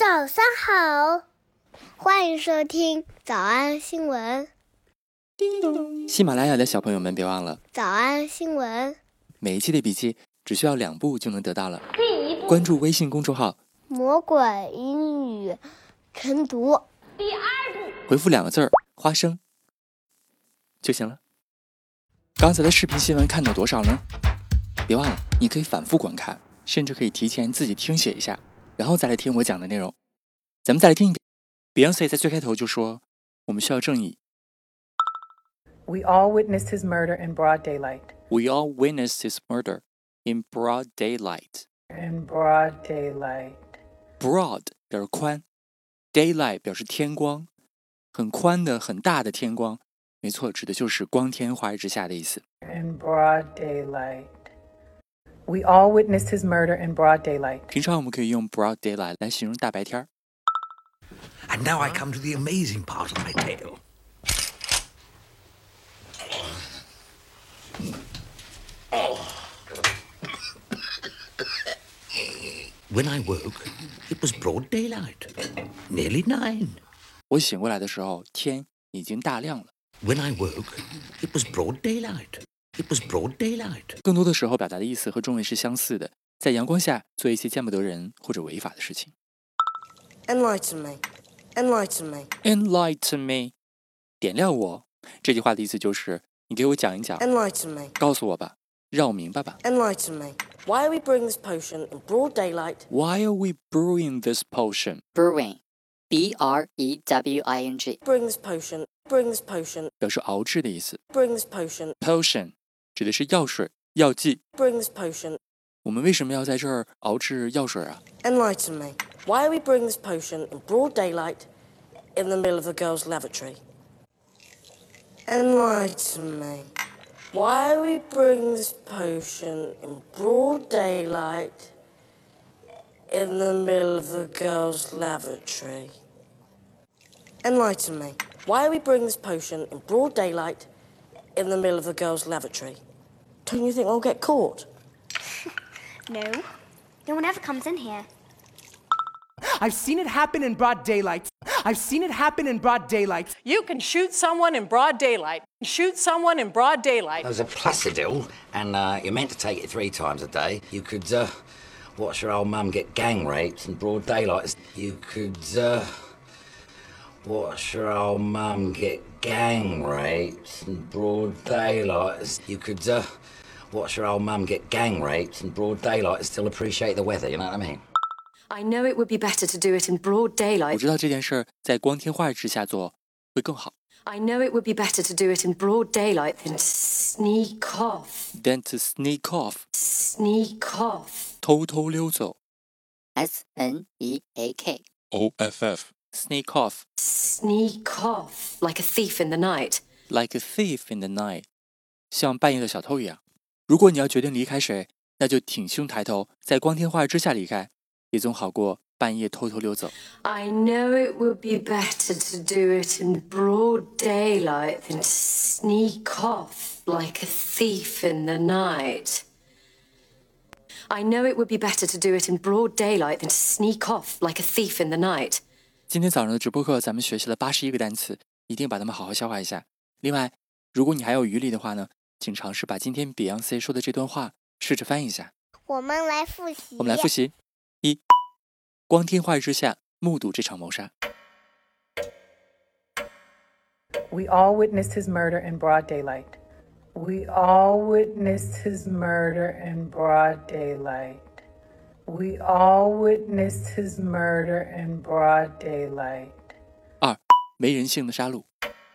早上好，欢迎收听早安新闻。 喜马拉雅的小朋友们别忘了早安新闻， 每一期的笔记只需要2步就能得到了。第一步，关注微信公众号魔鬼英语晨读。 第二步， 回复2个字儿花生就行了。刚才的视频新闻看到多少呢？别忘了你可以反复观看，甚至可以提前自己听写一下，然后再来听我讲的内容。咱们再来听一遍。 Beyonce 在最开头就说我们需要正义。 We all witnessed his murder in broad daylight. We all witnessed his murder in broad daylight. In broad daylight. Broad 表示宽， daylight 表示天光，很宽的很大的天光，没错，指的就是光天化日之下的意思。 In broad daylight. We all witnessed his murder in broad daylight. 平常我们可以用 broad daylight 来形容大白天。 And now I come to the amazing part of my tale. When I woke, it was broad daylight. Nearly 9. 我醒过来的时候，天已经大亮了。 When I woke, it was broad daylight. It was broad daylight. 更多的时候表达的意思和中文是相似的，在阳光下做一些见不得人或者违法的事情。 Enlighten me. Enlighten me. Enlighten me， 点亮我。这句话的意思就是你给我讲一讲， Enlighten me. 告诉我吧，让我明白吧。 Enlighten me. Why are we brewing this potion in broad daylight? Why are we brewing this potion? Brewing, B-R-E-W-I-N-G. Brewing this potion. Brewing this potion. 表示熬制的意思。 Brewing this potion. Potion 指的是药水、药剂。 Brewing this potion. 我们为什么要在这儿熬制药水啊？ Enlighten me. Why are we brewing this potion in broad daylight in the middle of the girls' lavatory? Enlighten me. Why are we brewing this potion in broad daylight in the middle of the girls' lavatory? Enlighten me. Why are we brewing this potion in broad daylight in the middle of the girls' lavatory? Don't you think we'll get caught? No, no one ever comes in here. I've seen it happen in broad daylight. I've seen it happen in broad daylight. You can shoot someone in broad daylight. Shoot someone in broad daylight. There's a Placidil, and you're meant to take it 3 times a day. You could watch your old mum get gang raped in broad daylight. You could watch your old mum get gang raped in broad daylight. You could watch your old mum get gang raped in broad daylight and still appreciate the weather, you know what I mean? I know it would be better to do it in broad 我 daylight. 知道这件事儿在光天化日之下做会更好。 I know it would be better to do it in broad daylight than to sneak off. Then to sneak off， Sneak off. 偷偷溜走。 S-N-E-A-K. Sneak off Sneak off. Like a thief in the night. like a thief in the night， 像半夜的小偷一样。如果你要决定离开谁，那就挺胸抬头，在光天化日之下离开，也总好过半夜偷偷溜走。 I know it would be better to do it in broad daylight than to sneak off like a thief in the night. I know it would be better to do it in broad daylight than to sneak off like a thief in the night. 今天早上的直播课，咱们学习了81个单词，一定把它们好好消化一下。另外，如果你还有余力的话呢，请尝试把今天 Beyonce 说的这段话试着翻译一下。 我们来复习。 我们来复习。1. 光天化日之下目睹这场谋杀。 We all witnessed his murder in broad daylight. We all witnessed his murder in broad daylight. We all witnessed his murder in broad daylight. 2. 没人性的杀戮。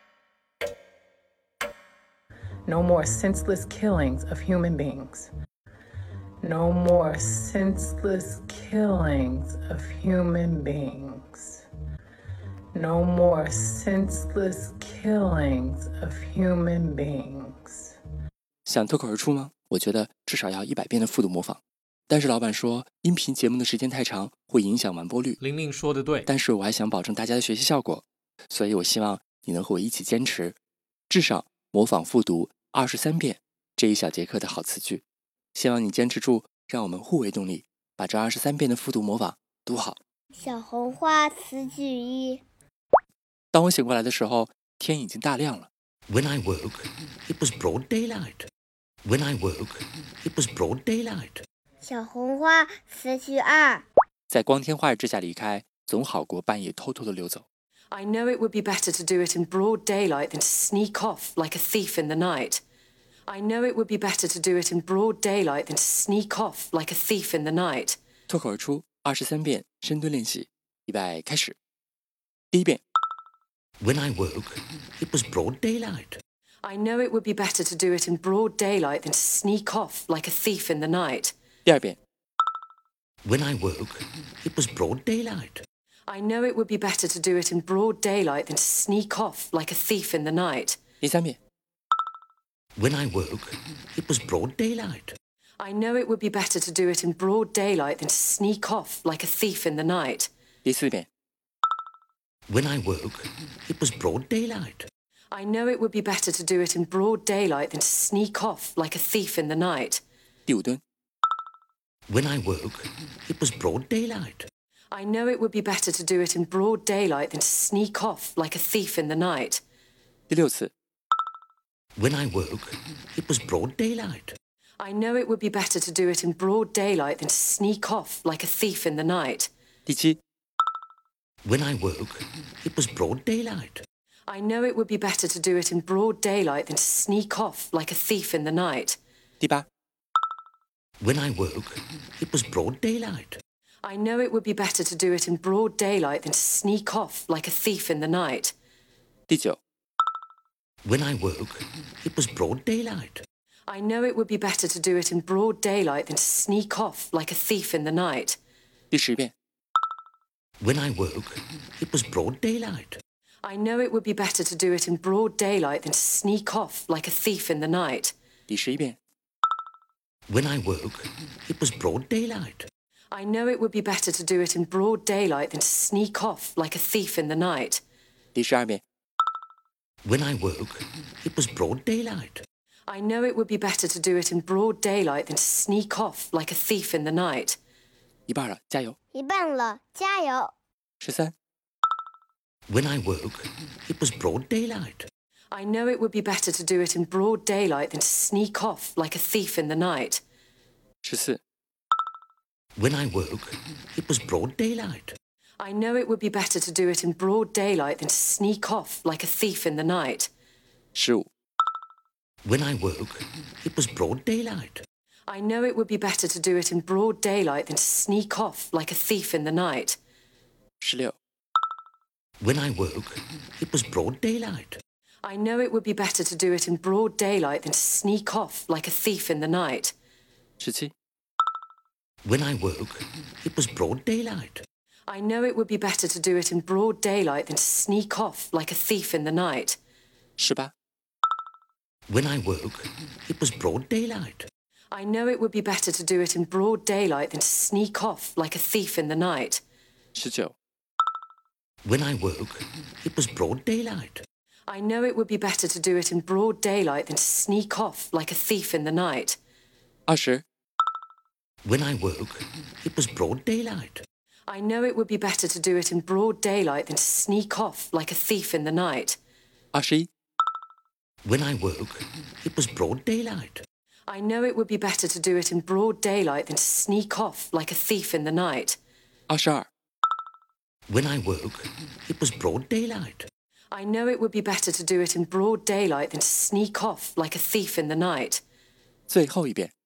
No more senseless killings of human beings. No more senseless killings of human beings. No more senseless killings of human beings. 想脱口而出吗？我觉得至少要100遍的复读模仿。但是老板说，音频节目的时间太长，会影响完播率。 玲玲说的对， 但是我还想保证大家的学习效果，所以我希望你能和我一起坚持，至少模仿复读23遍这一小节课的好词句。希望你坚持住，让我们互为动力，把这23遍的复读模仿读好。 小红花词句1。 当我醒过来的时候，天已经大亮了。 When I woke, it was broad daylight. When I woke, it was broad daylight. 小红花词句2。 在光天化日之下离开，总好过半夜偷偷的溜走。 I know it would be better to do it in broad daylight than to sneak off like a thief in the night. I know it would be better to do it in broad daylight than to sneak off like a thief in the night. 脱口而出23遍深蹲练习，预备开始。第一遍。 When I woke, it was broad daylight. I know it would be better to do it in broad daylight than to sneak off like a thief in the night. 第二遍。 When I woke, it was broad daylight. I know it would be better to do it in broad daylight than to sneak off like a thief in the night. 第三遍。 When I woke, it was broad daylight. I know it would be better to do it in broad daylight than to sneak off like a thief in the night. 第四遍。 When I woke, it was broad daylight. I know it would be better to do it in broad daylight than to sneak off like a thief in the night. 第五蹲。 When I woke, it was broad daylight. I know it would be better to do it in broad daylight than to sneak off like a thief in the night. 第六次。 When I woke, it was broad daylight. I know it would be better to do it in broad daylight than to sneak off like a thief in the night. 第七。 When I woke, it was broad daylight. I know it would be better to do it in broad daylight than to sneak off like a thief in the night. 第八。 When I woke, it was broad daylight. I know it would be better to do it in broad daylight than to sneak off like a thief in the night. 第九。 When I woke, it was broad daylight. I know it would be better to do it in broad daylight than to sneak off like a thief in the night. 第10遍。 When I woke, it was broad daylight. I know it would be better to do it in broad daylight than to sneak off like a thief in the night. 第11遍。 When I woke, it was broad daylight. I know it would be better to do it in broad daylight than to sneak off like a thief in the night. 第12遍。 When I woke, it was broad daylight. I know it would be better to do it in broad daylight than to sneak off like a thief in the night. 一半了，加油。 一半了，加油。 13。 When I woke, it was broad daylight. I know it would be better to do it in broad daylight than to sneak off like a thief in the night. 14。 When I woke, it was broad daylight. I know it would be better to do it in broad daylight than to sneak off like a thief in the night. 15。 When I woke, it was broad daylight. I know it would be better to do it in broad daylight than to sneak off like a thief in the night. 16。 When I woke, it was broad daylight. I know it would be better to do it in broad daylight than to sneak off like a thief in the night. 17。 When I woke, it was broad daylight. I know it would be better to do it in broad daylight than to sneak off like a thief in the night. 18。 When I woke, it was broad daylight. I know it would be better to do it in broad daylight than to sneak off like a thief in the night. 19。 When I woke, it was broad daylight. I know it would be better to do it in broad daylight than to sneak off like a thief in the night. 20。 When I woke, it was broad daylight. I know it would be better to do it in broad daylight than to sneak off like a thief in the night. 21。 When I woke, it was broad daylight. I know it would be better to do it in broad daylight than to sneak off like a thief in the night. 22。 When I woke, it was broad daylight. I know it would be better to do it in broad daylight than to sneak off like a thief in the night. 最后一遍。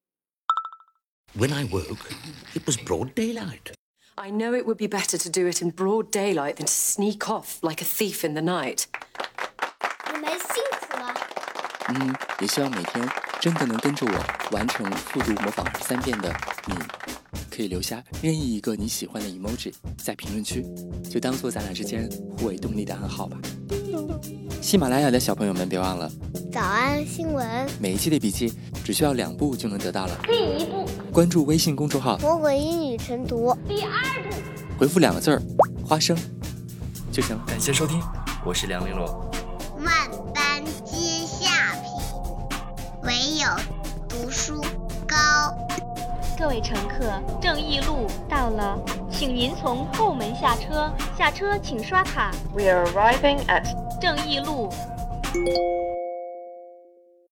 When I woke, it was broad daylight. I know it would be better to do it in broad daylight than to sneak off like a thief in the night. 你们辛苦了。 也希望每天真的能跟着我完成复读模仿23遍的你，可以留下任意一个你喜欢的 emoji 在评论区，就当做咱俩之间互为动力的暗号吧。喜马拉雅的小朋友们别忘了， 早安新闻， 每一期的笔记只需要2步就能得到了。 第1步， 关注微信公众号魔鬼英语晨读。第2步， 回复2个字花生就行了。感谢收听，我是梁玲珑。 万般皆下品，唯有读书高。 各位乘客，正义路到了，请请您从后门下车，下车请刷卡。 We are arriving at 正义路。